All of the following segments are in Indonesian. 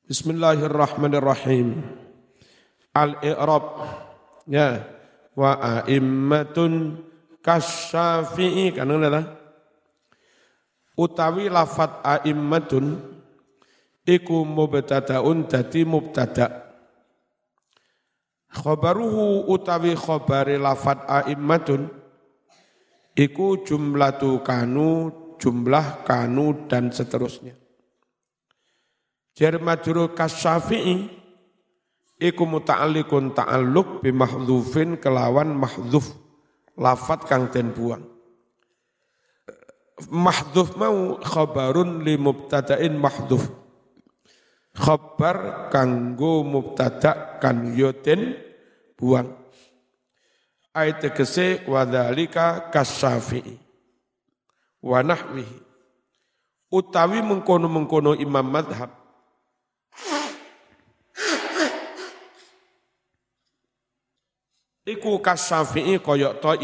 Bismillahirrahmanirrahim. Al-i'rab ya wa a'immatun kasyafi'i kan ngene utawi lafat a'immatun iku mubtadaun dadi mubtada. Khabaruhu utawi khabari lafat a'immatun iku jumlatu kanu, jumlah kanu dan seterusnya. Jar majrur kasyafi'i iku muta'alliqun ta'alluq bi mahdhufin kelawan mahdhuf lafat kang den buang. Mahdhuf mau khabarun li mubtada'in mahdhuf. Khabar kanggo mubtada' kan yo den buang. Ayat tegese wa dzalika kasyafi'i wa nahwihi utawi mengkono-mengkono imam madhab iku kasyafi'i koyok to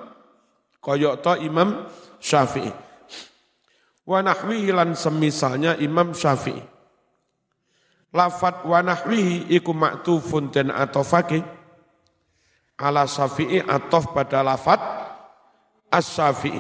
imam Syafi'i. Wa nahwihi lan semisalnya imam Syafi'i. Lafat wa nahwihi iku ma'tufun dan atofake ala Syafi'i atof pada lafat as-Syafi'i.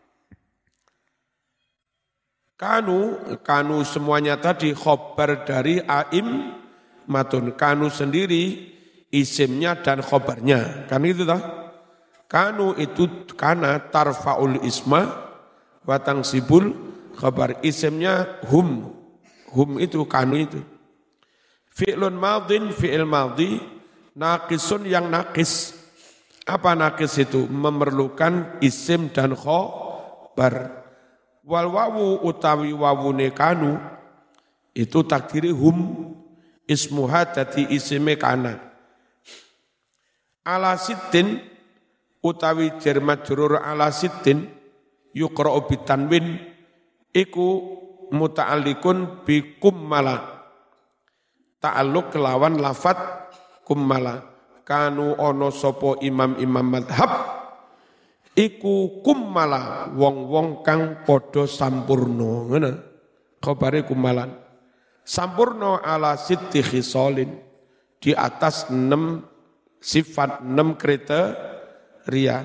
Kanu semuanya tadi khobar dari aim matun. Kanu sendiri isimnya dan khobarnya. Kan itu toh? Kanu itu kana tarfa'ul isma wa tangsibul khabar. Isimnya hum. Hum itu kanu itu. Fi'lun madin, fi'il madhi, naqisun yang naqis. Apa naqis itu? Memerlukan isim dan khobar. Wal wawu utawi wawune kanu itu takdiri hum. Ismuha dadi isime kana. Ala sittin utawi jar majrur ala sittin yuqra'u bitanwin iku muta'alliqun bi kummala ta'alluq kelawan lafat kummala. Kanu ono sapa imam-imam madhab iku kummala wong-wong kang padha sampurna ngono khabare kummalan sampurna ala sitti khisalin di atas 6 sifat 6 kriteria.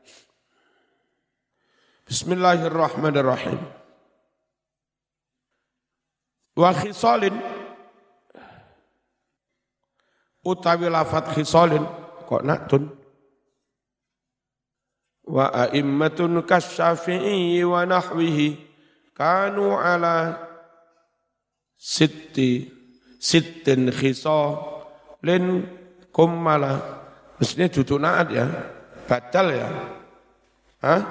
Bismillahirrahmanirrahim. Wa khisalin utawi lafat khisalin kok naktun. Wa a'immatun kasyafi'i wa nahwihi kanu ala sittin khisalin kummala. Mestinya duduk naat ya, badal ya. Hah?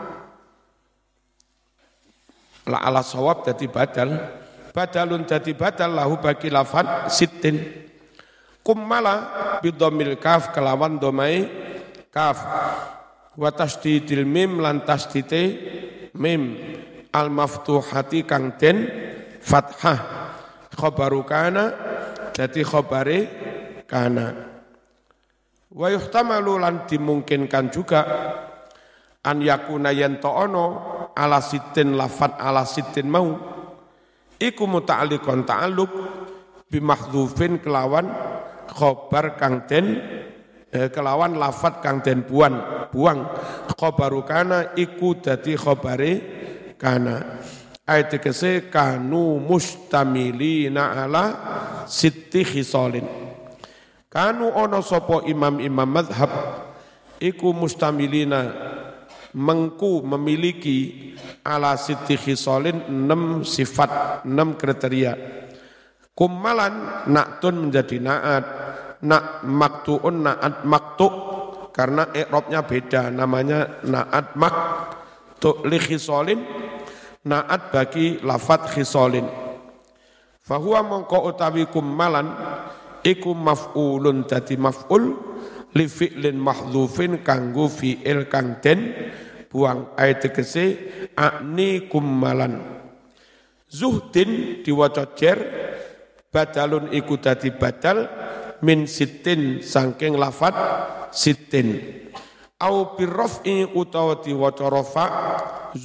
La ala sawab jadi badal. Badalun jadi badal lahu bagi lafad sittin. Kummala bidomil kaf kelawan domai kaf. Wa tasdidil mim lan tasdite mim. Al maftuhati kang den fathah. Khobaru kana jadi khobare kana. Wa yuhtamalu lan dimungkinkan juga an yakuna yanto ono ala sitin lafat ala sitin mau iku muta'alliqun ta'alluq bi mahdhufin kelawan khobar kang den kelawan lafat kang den buang khobaru kana iku dadi khobare kana. Ayat tegese kanu mustamilina ala sitti khisalin. Kanu ono sopo imam-imam madhab iku mustamilina mengku memiliki ala sitti khisalin 6 sifat 6 kriteria. Kummalan na'tun menjadi na'at, na' maktu'un na'at maktu' karena i'rabnya beda namanya na'at maktu' li khisalin na'at bagi lafat khisalin. Fahuwa mongko utawi kummalan iku maf'ulun dadi maf'ul li fi'lin mahdhufin kanggo fi'il kang den buang. Ayat tegese akni kummalan. Zuhdin diwaca jar badalun iku dadi badal min sittin saking lafat sittin. Au birraf'i utawa diwaca rafa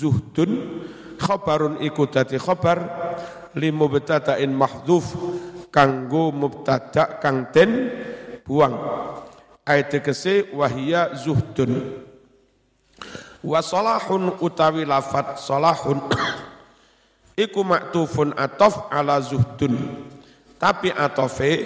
zuhdun khabarun iku dadi khabar li mubtada'in mahdhuf kanggo mubtada kang den buang. Ayat tegese wahia zuhdun. Wa salahun utawi lafat salahun iku maktufun atof ala zuhdun. Tapi atofe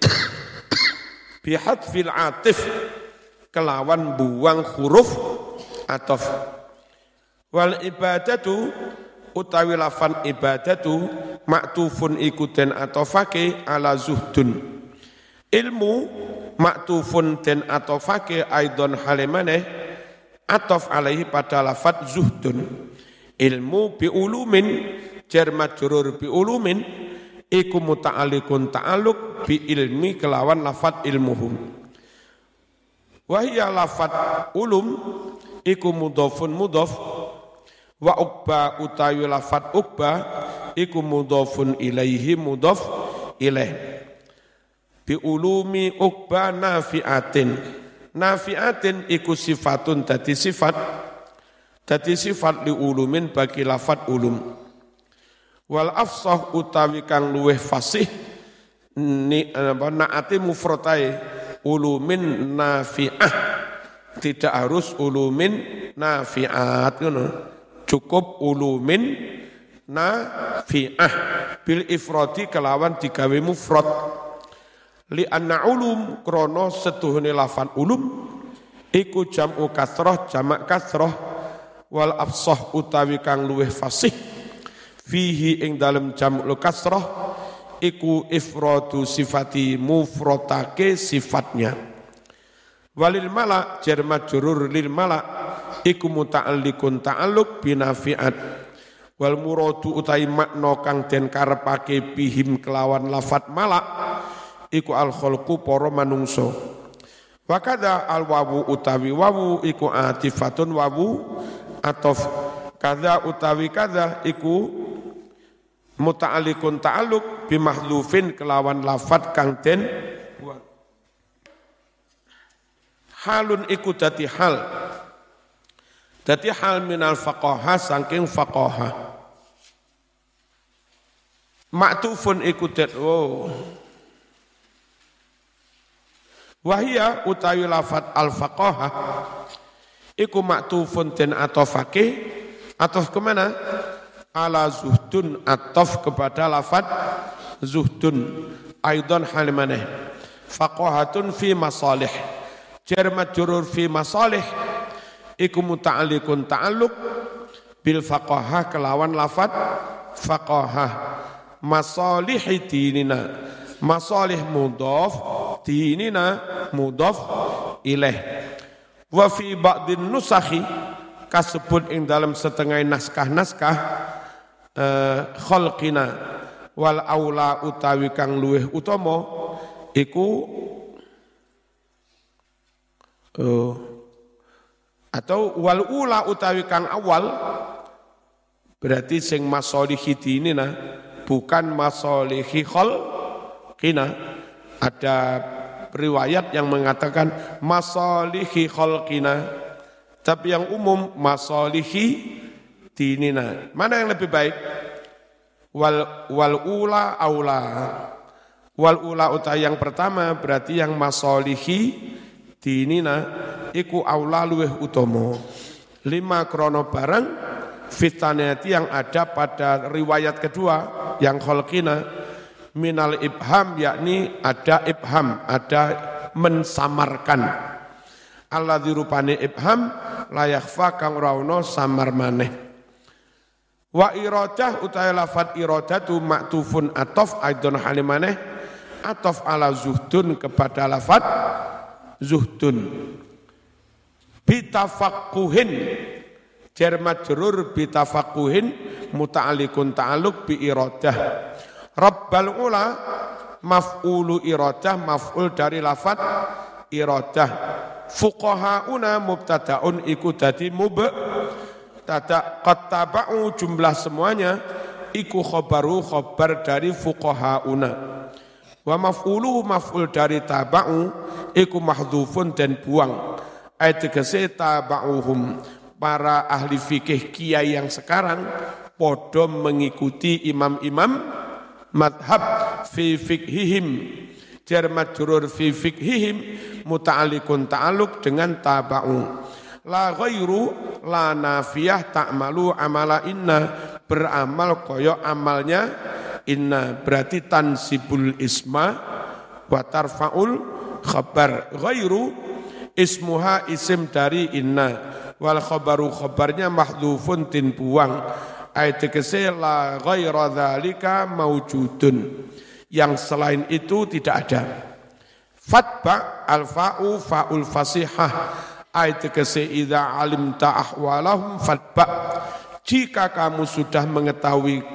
bihadfil atif kelawan buang huruf atof. Wal ibadatu utawi lafan ibadatu maktufun iku den atofake ala zuhdun. Ilmu maktufun den atofake aidon halimane atof alaihi pada lafat zuhdun. Ilmu bi ulumin jar majrur bi ulumin iku muta'alliqun ta'alluq bi ilmi kelawan lafat ilmuhum. Wa hiya lafat ulum iku mudhafun mudhaf wa uqba utawi lafat uqba iku mudhafun ilaihi mudhaf ilaih. Bi ulumi uqba nafi'atin iku sifatun dadi sifat li ulumin bagi lafat ulum. Wal afsah utawi kang luweh fasih naati mufradai ulumin nafi'ah, tidak harus ulumin nafi'at ngono, cukup ulumin nafi'ah bil ifradi kelawan digawe mufrad. Li anna ulum krono setuhune lafan ulum iku jam'u kasrah jamak kasrah. Wal afsah utawi kang luweh fasih fihi ing dalem jam'ul kasrah iku ifradu sifati mufradake sifatnya. Walil mala jar majrur lil mala iku muta'alliqun ta'alluq binafi'at. Wal muradu utai makna kang den karepake bihim kelawan lafat mala iku al khalqu para manungso. Wa kadza al wawu utawi wawu iku atifatun wawu atof. Kadza utawi kadza iku muta'alliqun ta'alluq bi mahdhufin kelawan lafat kang den halun iku dadi hal. Dadi hal minal faqaha saking faqaha. Maktufun iku wahia utawi lafat al-faqaha iku maktufun den atofake atof kemana? Ala zuhdun atof kepada lafat zuhdun aidon halimaneh faqahatun fi masalih jar majrur fi masalih iku muta'alliqun ta'alluq bil faqaha kelawan lafat faqaha. Masalihi dinina masalih mudhaf dinina mudhaf ilaih. Wa fi ba'din nusakhi kasebut ing dalam setengah naskah-naskah khalqina wal aula utawi kang luweh utama iku atau wal ula utawi kang awal berarti sing masalihi dinina bukan masalihi khalqina. Ada riwayat yang mengatakan masalihi khalqina, tapi yang umum masalihi dinina. Mana yang lebih baik? Wal ula aula. Wal ula utai yang pertama berarti yang masalihi dinina iku aula luweh utama. 5 krono barang fitanati yang ada pada riwayat kedua yang khalqina minal ibham, yakni ada ibham, ada mensamarkan. Alladzi rupane ibham la yakhfa kang ora ono samar maneh. Wa iradah utawa lafat iradatu maktufun atof aidon halimane atof ala zuhdun kepada lafat zuhdun. Bitafaqquhin jar majrur bitafaqquhin muta'alliqun ta'alluq bi iradah. Rabbal ula maf'ulu iradah maf'ul dari lafat iradah. Fuqahauna mubtada'un iku dadi mubtada qad taba'u jumlah semuanya iku khabaru khabar dari fuqahauna. Wa maf'ulu maf'ul dari taba'u iku mahdhufun dan buang. Ayat tegese taba'uhum para ahli fikih kiai yang sekarang podo mengikuti imam-imam madhab fi fiqhihim jar majrur fi fiqhihim muta'alliqun ta'alluq dengan taba'u la ghairu la nafiyah ta'malu amala inna beramal koyo amalnya inna berarti tansibul isma wa tarfa'ul khabar ghairu ismuha isim dari inna wal khabaru khabarnya mahdhufun tin buang ayat tegese la ghaira dzalika maujudun yang selain itu tidak ada fatba al fa'u fa'ul fasihah ayat tegese idza alimta ahwalahum fatba jika kamu sudah mengetahui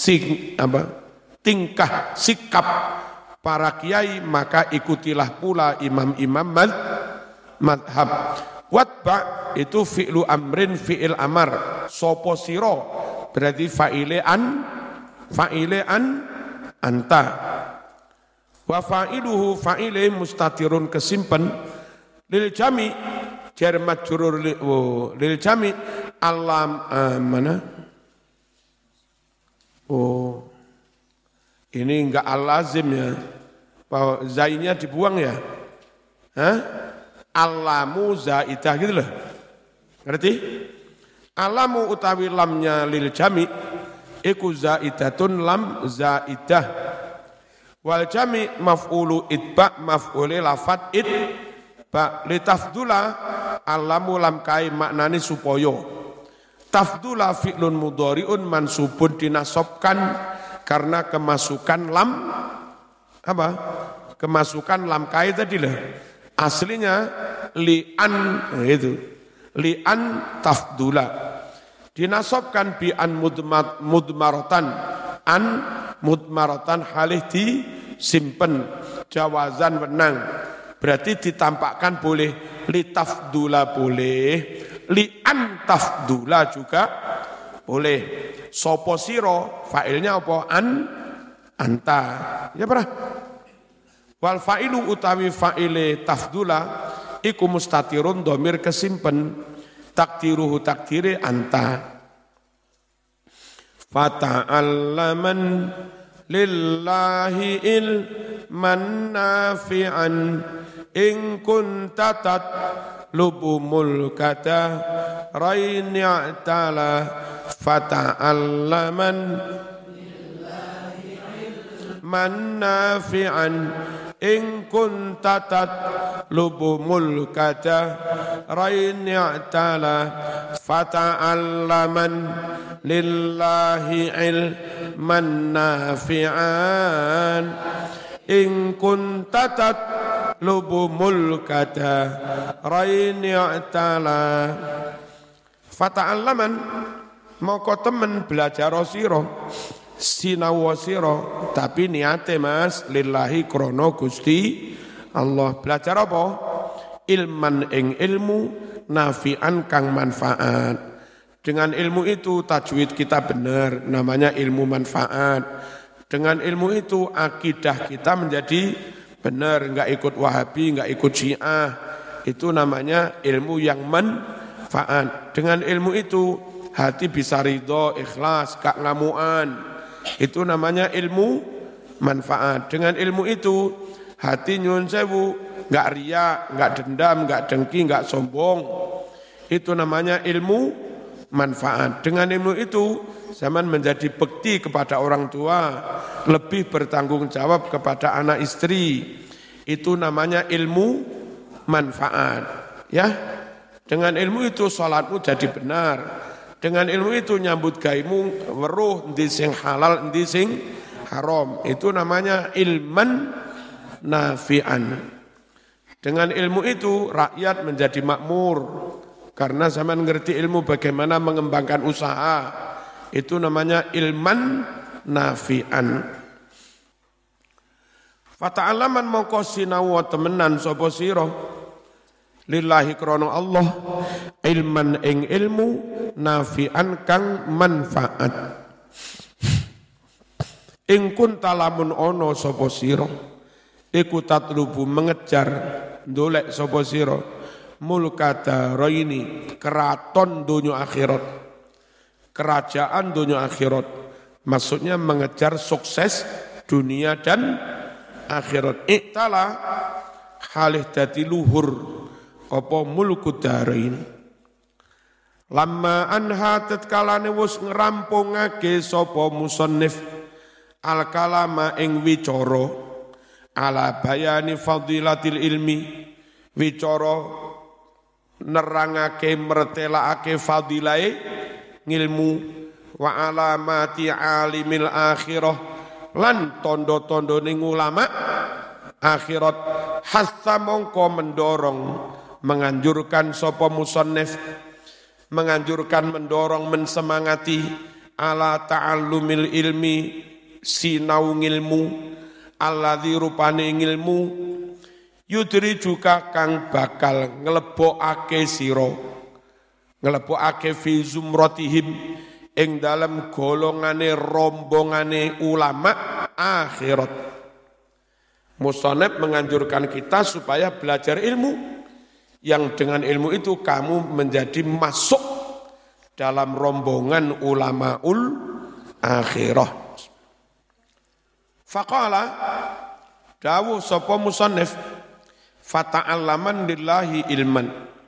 tingkah sikap para kiai maka ikutilah pula imam-imam madhab. Watba itu fi'lu amrin fi'il amar. Sopo siro berarti fa'ile an anta. Wa fa'iluhu fa'ile mustatirun kesimpan lil jami jar majrur lil jami alam mana? Oh. Ini enggak al-lazim ya. Bahwa zainya dibuang ya. Hah? Alamu zaidah gitu loh. Ngerti? Alamu utawi lamnya lil jami iku zaidatun lam zaidah. Wal jami maf'ulu itba maf'uli lafat itba litafdula alamu lam kai maknani supaya. Tafdula fi'lun mudhari'un mansubun dinasobkan karena kemasukan lam apa? Kemasukan lam kai tadi lah. Aslinya li'an itu. Li'an tafdula. Dinasobkan bi'an mudmaratan. An mudmaratan halih disimpen. Jawazan wenang. Berarti ditampakkan boleh. Li tafdula boleh. Li'an tafdula juga boleh. Sopo siro fa'ilnya apa? Anta. Ya pernah? Wal fa'ilu utawi fa'ile tafdula iku mustatirun domir kesimpen takdiruhu takdire anta fata'allaman lillahi ilman nafi'an in kunta tatlubu mulkata raini'tala fata'allaman man nafi'an in kunta tatlubu mulkata raini'tala fata'allaman lillahi ilman nafi'an in kunta tatlubu mulkata raini'tala fata'allaman moko temen belajar sira sinau sira tapi niate Mas lillahi krono Gusti Allah belajar apa ilman ing ilmu nafi'an kang manfaat dengan ilmu itu tajwid kita benar namanya ilmu manfaat dengan ilmu itu akidah kita menjadi benar enggak ikut Wahabi enggak ikut Syiah itu namanya ilmu yang manfaat dengan ilmu itu hati bisa ridho ikhlas gak ngamuan itu namanya ilmu manfaat. Dengan ilmu itu hati nyun sewu, enggak riya, enggak dendam, enggak dengki, enggak sombong. Itu namanya ilmu manfaat. Dengan ilmu itu zaman menjadi bekti kepada orang tua, lebih bertanggung jawab kepada anak istri. Itu namanya ilmu manfaat. Ya. Dengan ilmu itu salatmu jadi benar. Dengan ilmu itu nyambut gaimu weruh endi sing halal endi sing haram. Itu namanya ilman nafi'an. Dengan ilmu itu rakyat menjadi makmur karena zaman ngerti ilmu bagaimana mengembangkan usaha. Itu namanya ilman nafi'an. Fata'alaman mongko sinau temenan sapa sira lillahi krono Allah ilman ing ilmu nafi'an kang manfaat ing kunta lamun ono sapa sira iku tatlubu mengejar ndolek sapa sira mulkata raini keraton dunia akhirat kerajaan dunia akhirat maksudnya mengejar sukses dunia dan akhirat. Iktala halih dadi luhur apa mulku darain. Lamma anha tatkalane wis ngrampungake sapa musannif al kalama ing wicara ala bayani fadilatil ilmi, wicara nerangake mertelakake fadilahe ngilmu wa alamati alimil akhirah lan tondo-tondone ulama akhirat. Hasta mongko mendorong menganjurkan sapa musannif, menganjurkan mendorong mensemangati ala ta'allumil ilmi sinau ngilmu alladzi rupane ngilmu yudri juga kang bakal nglebokake sira, nglebokake fi zumratihim ing dalam golongane rombongane ulama akhirat. Musannif menganjurkan kita supaya belajar ilmu yang dengan ilmu itu kamu menjadi masuk dalam rombongan ulamaul akhirah. Faqala dawuh sapa musannif fata'allaman lillahi ilman.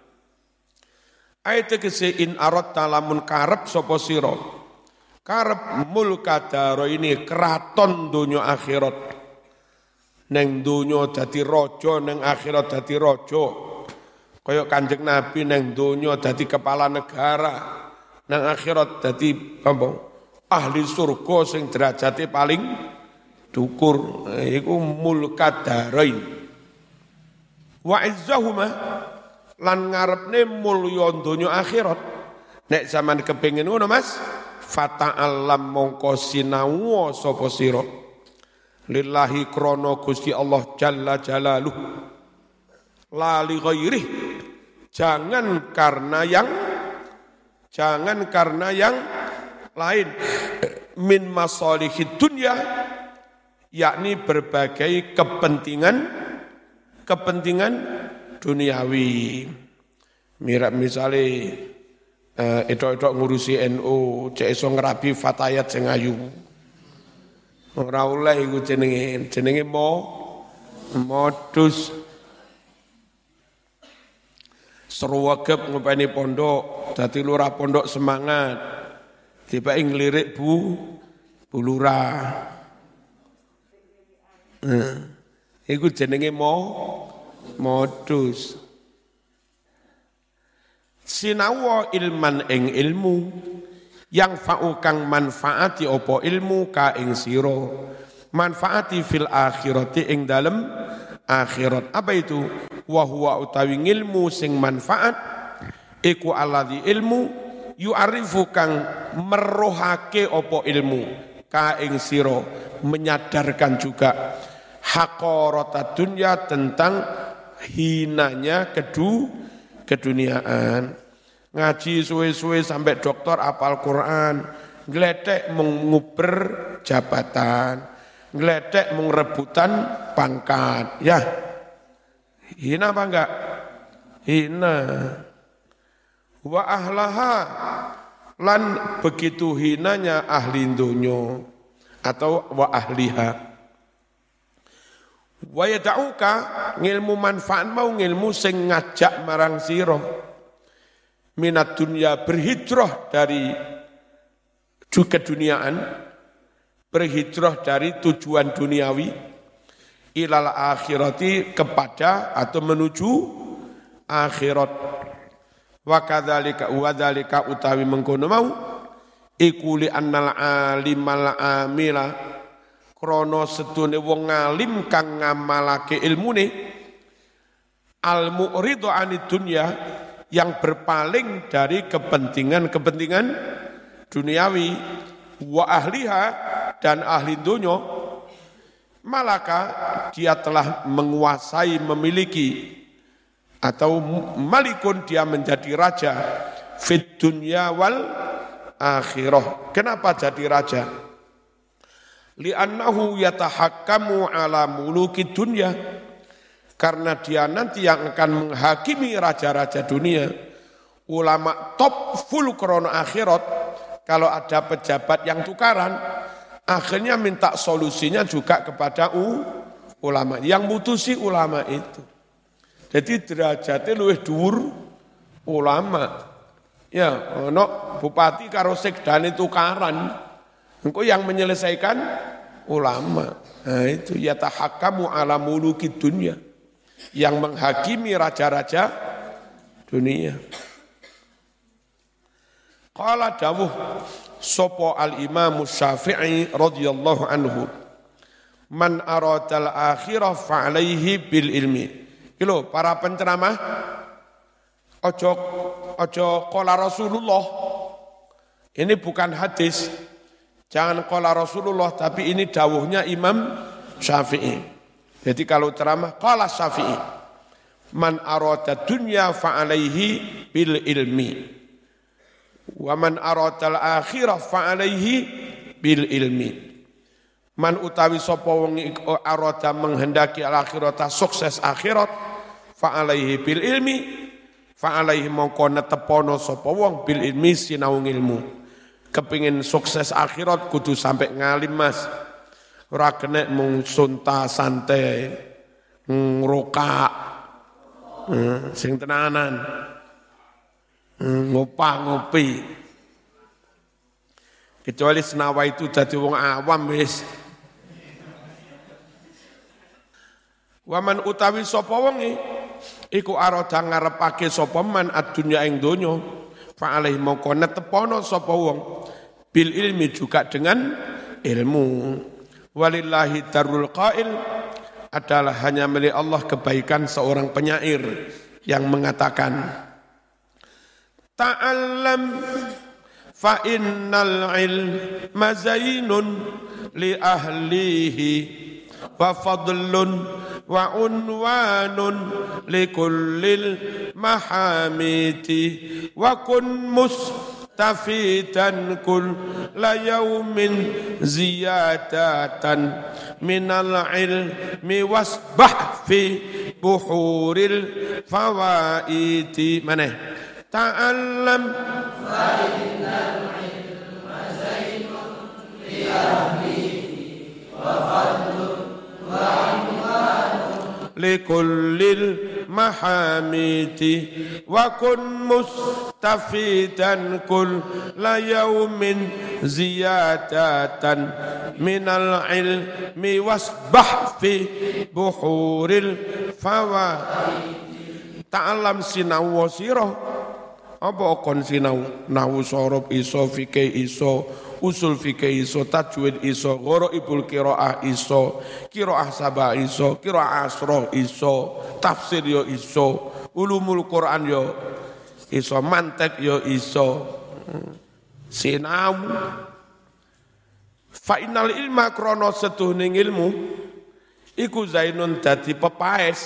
Ayat kese in aratta lamun karep sapa sira. Karep mulka daraini kraton donya akhirat. Neng donya dadi raja, neng akhirat dadi raja. Kaya Kanjeng Nabi neng donya dadi kepala negara, neng akhirat dadi apa? Ahli surga sing derajate paling dhuwur. Iku mulka darain. Wa izzahuma lan ngarepne mulya donya akhirat. Nek sampean kepengin ngono Mas, fata'allam mongko sinau sapa sira. Lillahi krono Gusti Allah Jalla Jalaluh la li ghairih, jangan karena yang lain min masalihid dunya, yakni berbagai kepentingan duniawi. Mirip misale edok-edok ngurusi NU cek iso ngrabi fatayat sing ayu. Ora oleh iku jenenge modus seruwegep ngopeni pondok dadi lurah pondok semangat tiba nglirik bu lurah. Iku jenenge modus sinau ilman ing ilmu yang fa'ukang manfaati opo ilmu ka ing siro, manfaati fil akhirati ing dalem akhirat. Apa itu? Wa huwa utawi ilmu sing manfaat iku alladzi ilmu yu'arifu kang merohake opo ilmu ka ing siro, menyadarkan juga haqarata dunya, tentang hinanya keduniaan. Ngaji suwe-suwe sampai doktor apal Quran, ngledek menguber jabatan, ngledek mengrebutan pangkat. Ya, hina apa enggak? Hina. Wa ahlaha, lan begitu hinanya ahli dunya atau wa ahliha. Wa yada'uka, ngilmu manfaat mau ngilmu sing ngajak marang sira. Minat dunia, berhijrah dari keduniaan, berhijrah dari tujuan duniawi, ilal akhirati, kepada atau menuju akhirat. Wa kadzalika utawi mengkono mau iku li annal alimal amila, krana setune wong alim kang ngamalake ilmune, al mu'ridu anid dunya, yang berpaling dari kepentingan duniawi, wa ahliha, dan ahli dunya, malaka dia telah menguasai, memiliki, atau malikun dia menjadi raja fid dunya wal akhirah. Kenapa jadi raja? Li'annahu yatahakkamu ala muluki dunya, karena dia nanti yang akan menghakimi raja-raja dunia. Ulama top full krono akhirat, kalau ada pejabat yang tukaran, Akhirnya minta solusinya juga kepada ulama. Yang mutusi ulama itu. Jadi derajatnya luwih dhuwur ulama. Ya, ono bupati karo sekdane tukaran. Engko yang menyelesaikan ulama. Nah itu yatahakkamu ala muluki dunya. Yang menghakimi raja-raja dunia. Qala dawuh sapa al-Imam Syafi'i radhiyallahu anhu. Man aradal akhirah fa alaihi bil ilmi. Iki para penceramah ojo qala Rasulullah. Ini bukan hadis. Jangan qala Rasulullah tapi ini dawuhnya Imam Syafi'i. Jadi kalau ceramah qala Syafi'i. Man arada dunya fa alaihi bil ilmi. Wa man aradal akhirah fa alaihi bil ilmi. Man utawi sapa wong arada menghendaki al akhirata sukses akhirat fa alaihi bil ilmi fa alaihi mongko netepono sapa wong bil ilmi sinau ilmu. Kepingin sukses akhirat kudu sampai ngalim Mas. Ora kena mung sunta santai ngrokak sing tenanan. Ngopi. Kecuali senawa itu jadi wong awam wis. Waman utawi sapa wong iku arada ngarepake sapa man adunya ing donya fa alaihi mongko netepono sapa wong bil ilmi juga dengan ilmu. Walillahi darul qail adalah hanya milik Allah kebaikan seorang penyair yang mengatakan ta'allam fa innal ilma zainun li ahlihi wa fadlun wa unwanun li kullil mahamiti wa kun mustafidan kulla yawmin ziyadatan minal ilmi wasbah fi buhuril fawaiti maneh ta'allam fa innal ilma zainun li ahlihi wa fadlun wa unwanun li kullil mahamiti wa kun mustafidan kulla yawmin ziyadatan minal ilmi wasbah fi buhuril fawaiti. Ta'allam sinau wa sirah. Apa kon sinau nahwu sorob iso fikih iso usul fikih iso tajwid iso gharaibul qiraah iso qiraah sabah iso qiraah asra iso tafsir yo iso ulumul Quran yo iso mantek yo iso sinau fa innal ilma krana setuhne ilmu iku zainun dadi pepaes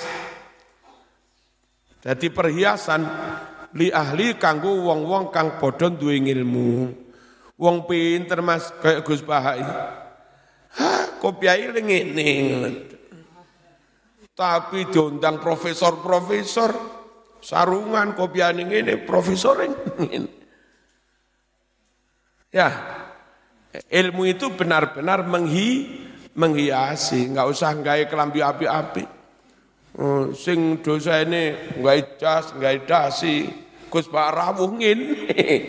dadi perhiasan li ahli kanggo wong-wong kang padha duwe ilmu. Wong pinter Mas kayak Gus Bahai. Kopiai ngene. Tapi diundang profesor-profesor sarungan kopiane ngene, profesor ngene. Ya. Ilmu itu benar-benar menghiasi, enggak usah gawe kelambi api-api. Sing dosa ini gawe jas, gawe dasi. Gus Pak rawuh ngene.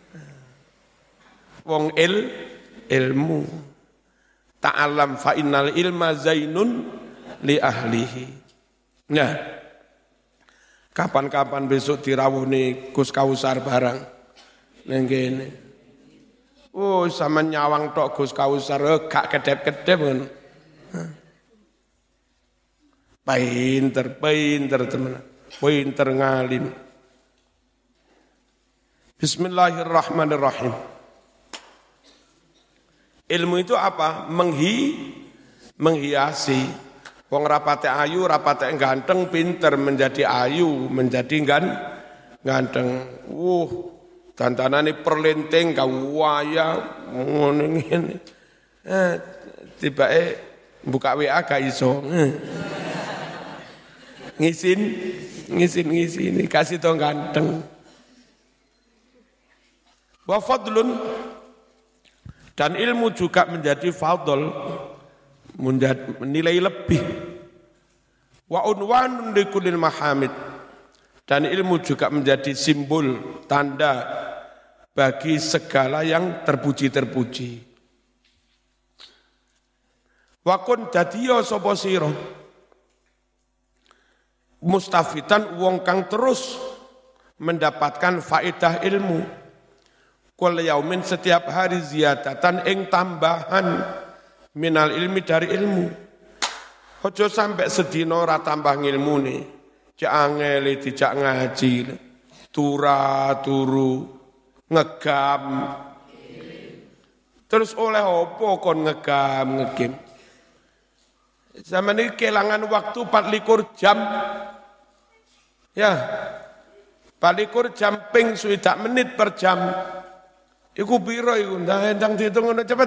Wong ilmu. Ta'alam fa innal ilma zainun li ahlihi. Nah. Kapan-kapan besok dirawuh nih Gus Kausar barang. Nang kene. Oh, sama nyawang tok Gus Kausar gak kedep-kedep kan. Pinter teman. Pinter ngalim. Bismillahirrahmanirrahim. Ilmu itu apa? Menghiasi. Wong rapate ayu, rapate ganteng, pinter menjadi ayu, menjadi ganteng. Dandanane perlenting kawaya ngono ngene. Tibake buka WA gak iso. Ngisin kasih tau ganteng. Wa fadlun Dan ilmu juga menjadi fadl, menilai lebih. Wa unwanun likulil mahamid. Dan ilmu juga menjadi simbol, tanda bagi segala yang terpuji-terpuji. Wa kun dadiya sapa sira mustafitan wong kang terus mendapatkan faedah ilmu. Kul yaumin setiap hari ziyadatan ing tambahan minal ilmi dari ilmu. Ojo sampai sedina ora tambah ngilmune. Cek angel dijak ngaji. Turu ngegam. Terus oleh opo kon ngegam. Zaman ini kelangan waktu 24 jam. Ya. 24 jam ping swidak menit per jam. Iku piro iku ndang diitung ngono cepet.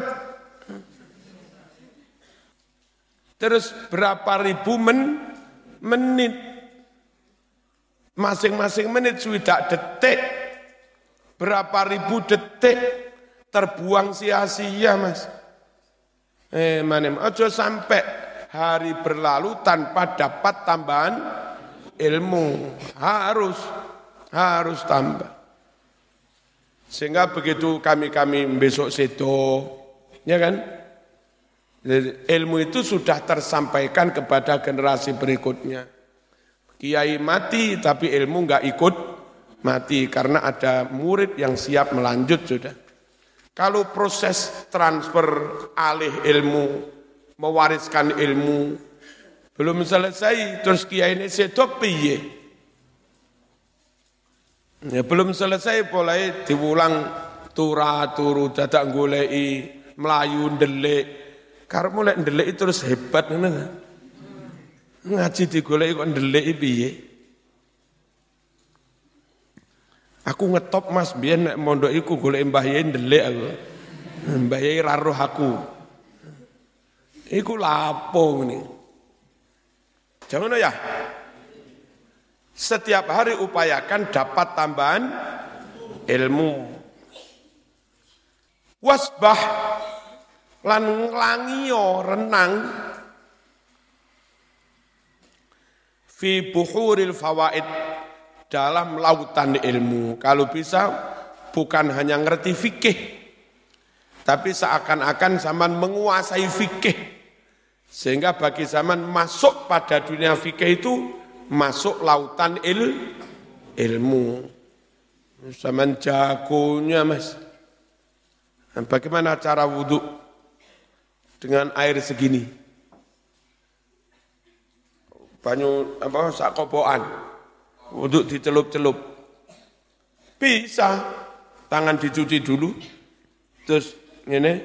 Terus berapa ribu menit. Masing-masing menit swidak detik. Berapa ribu detik terbuang sia-sia, Mas. Manem aja sampai hari berlalu tanpa dapat tambahan ilmu. Harus tambah. Sehingga begitu kami besok sedo, ya kan? Ilmu itu sudah tersampaikan kepada generasi berikutnya. Kiai mati tapi ilmu enggak ikut mati karena ada murid yang siap melanjut sudah. Kalau proses transfer alih ilmu, mewariskan ilmu belum selesai, terus kiai ini sedo piye? Ya, belum selesai mulai diulang turu dadak goleki melayu ndelik. Karep mulai ndelik terus hebat ngono. Ngaji digoleki kok ndelik piye? Aku ngetop Mas biyen nek mondok iku goleki Mbah Yai ndelik aku. Mbah Yai ra roh aku. Iku lapo ngene. Jangan ya. Setiap hari upayakan dapat tambahan ilmu. Wasbah lan nglangiyo renang fi buhuril fawaid dalam lautan ilmu. Kalau bisa bukan hanya ngerti fikih, tapi seakan-akan zaman menguasai fikih. Sehingga bagi zaman masuk pada dunia fikih itu masuk lautan ilmu. Zaman jagonya Mas. Bagaimana cara wudhu dengan air segini? Banyu sakopoan. Wudhu dicelup-celup. Bisa. Tangan dicuci dulu. Terus ini.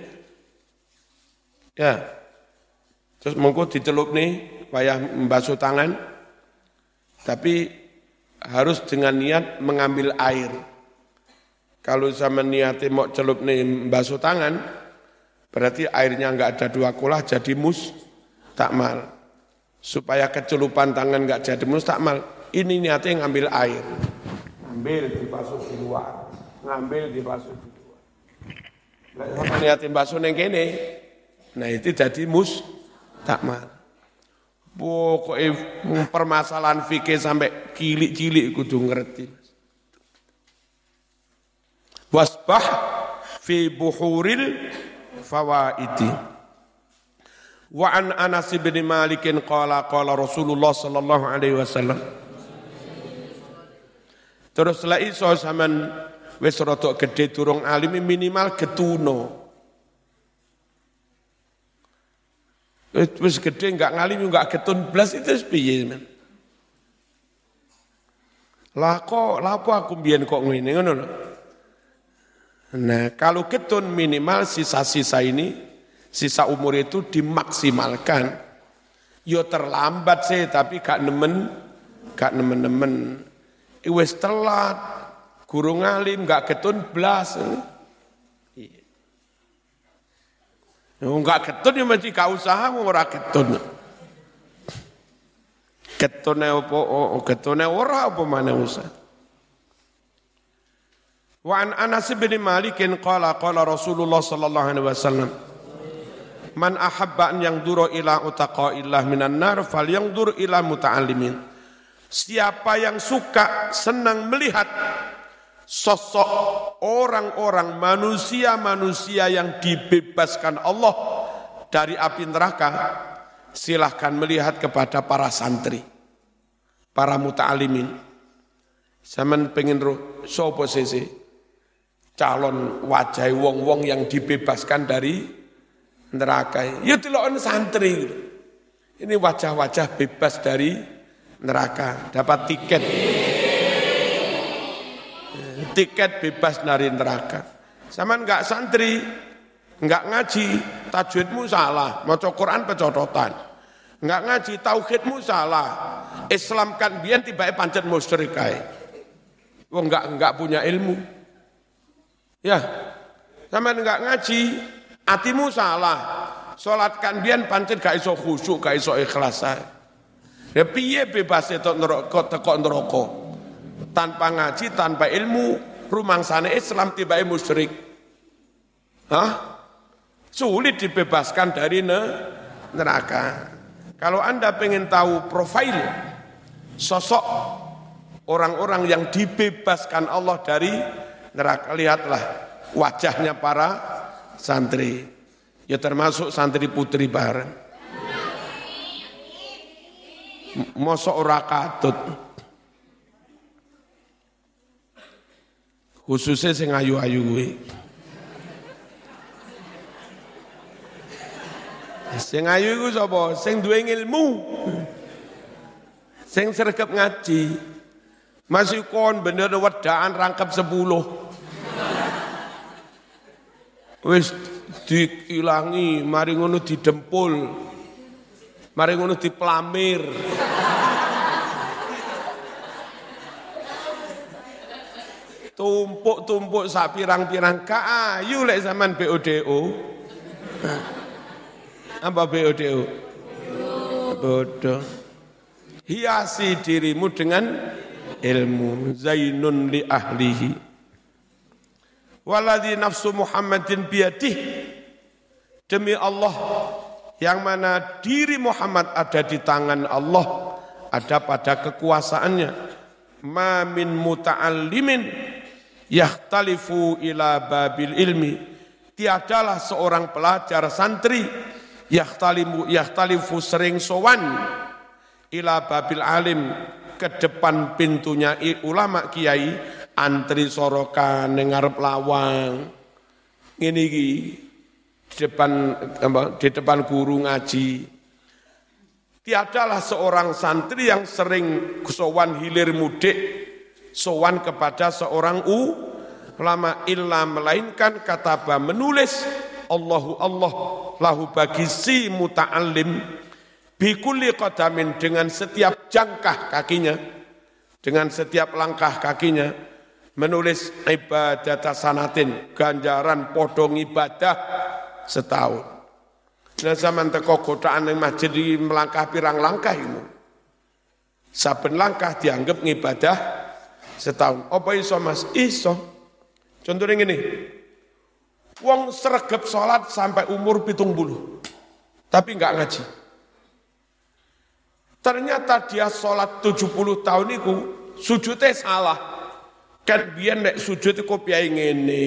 Ya. Terus monggo dicelup nih, payah membasuh tangan. Tapi harus dengan niat mengambil air. Kalau sama niatnya mau celup nih basuh tangan, berarti airnya enggak ada 2 kulah jadi mustakmal. Supaya kecelupan tangan enggak jadi mustakmal, ini niatnya ngambil air. Ambil dibasuh di luar, ngambil dibasuh di luar. Nah, sama niatnya basuh neng kene, nah itu jadi mustakmal. Pokoknya permasalahan fikih sampai cilik-cilik kudu ngerti. Wasbah fi buhuril fawaidi. Wa an Anas bin Malik qala Rasulullah sallallahu alaihi wasallam. Terus la iso sampean wis rada gedhe durung alim minimal getuno. Wis gede enggak ngalim enggak getun blas itu piye men. Lah kok lapo aku mbiyen kok ngene ngono lho. Nah, kalau getun minimal sisa-sisa ini, sisa umur itu dimaksimalkan. Yo terlambat sih tapi gak nemen-nemen. Wis telat, guru ngalim enggak getun blas. Enggak ketun ya mesti gak usaha ora ketun. Ketune opo? Ketune ora apa maneh usah. Wa an Anas bin Malik qala Rasulullah sallallahu alaihi wasallam man ahabba an yanzura ila utaqaillah minan nar falyanzur ila muta'allimin. Siapa yang suka senang melihat sosok orang-orang manusia-manusia yang dibebaskan Allah dari api neraka, silahkan melihat kepada para santri, para muta'allimin. Saman pengen roh sapa sese calon wajah wong-wong yang dibebaskan dari neraka. Ya delokon santri. Ini wajah-wajah bebas dari neraka, dapat tiket. Tiket bebas dari neraka. Saman enggak santri, enggak ngaji, tajwidmu salah, maca Quran pecototan. Enggak ngaji, tauhidmu salah. Islam kan biyen tibake pancen musyrik kae. Wong enggak punya ilmu. Ya, sama enggak ngaji, hatimu salah. Salat kan biyen pancen gak iso khusyuk, gak iso ikhlas. Ya piye bebas teko neraka? Tanpa ngaji, tanpa ilmu, rumangsane Islam tibake musyrik. Sulit dibebaskan dari neraka. Kalau Anda pengen tahu profil sosok orang-orang yang dibebaskan Allah dari neraka, lihatlah wajahnya para santri. Ya termasuk santri putri bareng. Mosok ora katut. Khususnya sing ayu-ayu kuwi. Sing ayu iku sapa? Sing duwe ilmu. Sing sregep ngaji. Masih kon bener wedaan rangkap 10. Wis diilangi, mari ngono didempul. Mari ngono diplamir. Tumpuk-tumpuk sak pirang-pirang ayu lek zaman BODO. Apa BODO? Bodoh. Hiasi dirimu dengan ilmu. Zainun li ahlihi. Waladhi nafsu Muhammadin biyadih. Demi Allah, yang mana diri Muhammad ada di tangan Allah, ada pada kekuasaannya. Ma min muta'allimin yahtalifu ila babil ilmi. Tiadalah seorang pelajar santri yahtalifu sering sowan ila babil alim, ke depan pintunya ulama kiai, antri sorokan ngarep lawang ngene iki di depan guru ngaji. Tiadalah seorang santri yang sering sowan hilir mudik, sowan kepada seorang ulama, illa melainkan kataba menulis Allahu Allah lahu bagi si muta'allim bikulli qadamin, dengan setiap jangkah kakinya, dengan setiap langkah kakinya, menulis ibadat sanatin, ganjaran podong ibadah setahun. Nah zaman teko godaan yang masjid di melangkah pirang langkah itu, saben langkah dianggap ngibadah setahun. Apa iso mas? Iso. Contohnya gini, wong sregep sholat sampai umur 70, tapi enggak ngaji. Ternyata dia sholat 70 tahun itu sujudnya salah. Kan biyen nek sujud iku piye ngene.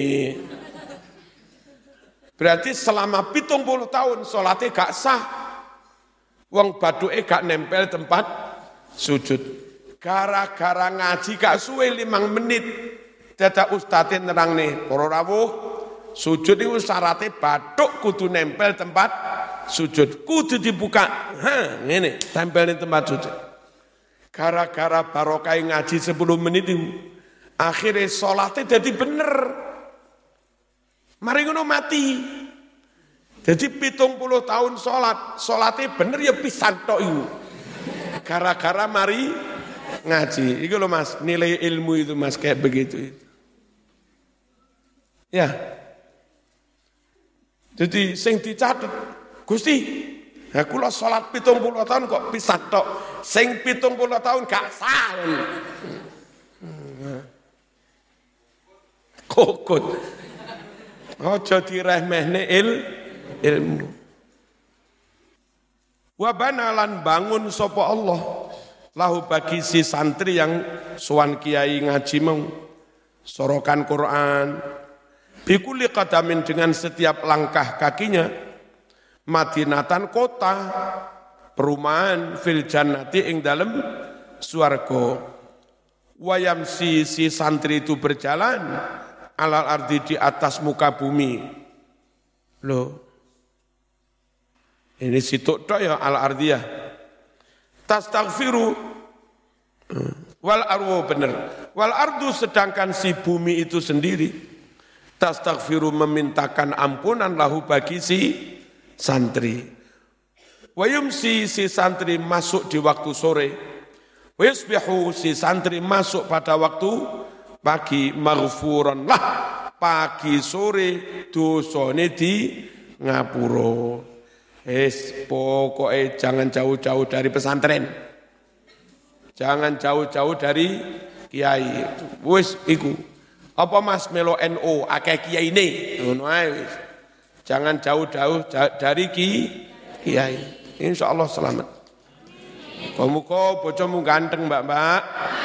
Berarti selama 70 tahun sholatnya gak sah. Wong baduke gak nempel tempat sujud. Gara-gara ngaji gak suwe 5 menit. Dadak ustadz nerang nih, para rawuh, sujud itu syaratnya bathuk kudu nempel tempat sujud, kudu dibuka. Ngene, tempel di tempat sujud. Gara-gara barokah ngaji 10 menit itu, akhirnya sholatnya jadi bener. Mari ngono mati. Jadi 70 tahun sholatnya bener ya pisan tok itu. Gara-gara mari ngaji. Itu loh mas, nilai ilmu itu mas kayak begitu itu. Ya. Jadi sing dicatet, Gusti, aku lo sholat 70 tahun kok pisan tok. Sing 70 tahun gak sah. kokot. Aja diremehne ilmu. Wa banalan bangun sapa Allah lahu bagi si santri yang sowan kiai ngaji mau sorokan Quran bikuli qadamin dengan setiap langkah kakinya madinatan kota perumahan fil jannati ing dalem swarga wayamsi si santri itu berjalan alal ardi di atas muka bumi loh ini situk tok ya al ardiyah tastaghfiru wal arwu bener wal ardu sedangkan si bumi itu sendiri tastaghfiru memintakan ampunan lahu bagi si santri wayumsi si santri masuk di waktu sore wayusbihu si santri masuk pada waktu pagi maghfuran lah pagi sore dosane di ngapura pokoknya jangan jauh-jauh dari pesantren. Jangan jauh-jauh dari kiai. Wis iku. Apa Mas melo NU akeh kiai ne? Ngono ae wis. Jangan jauh-jauh dari kiai. Insyaallah selamat. Muga-muga bojomu ganteng, Mbak-mbak.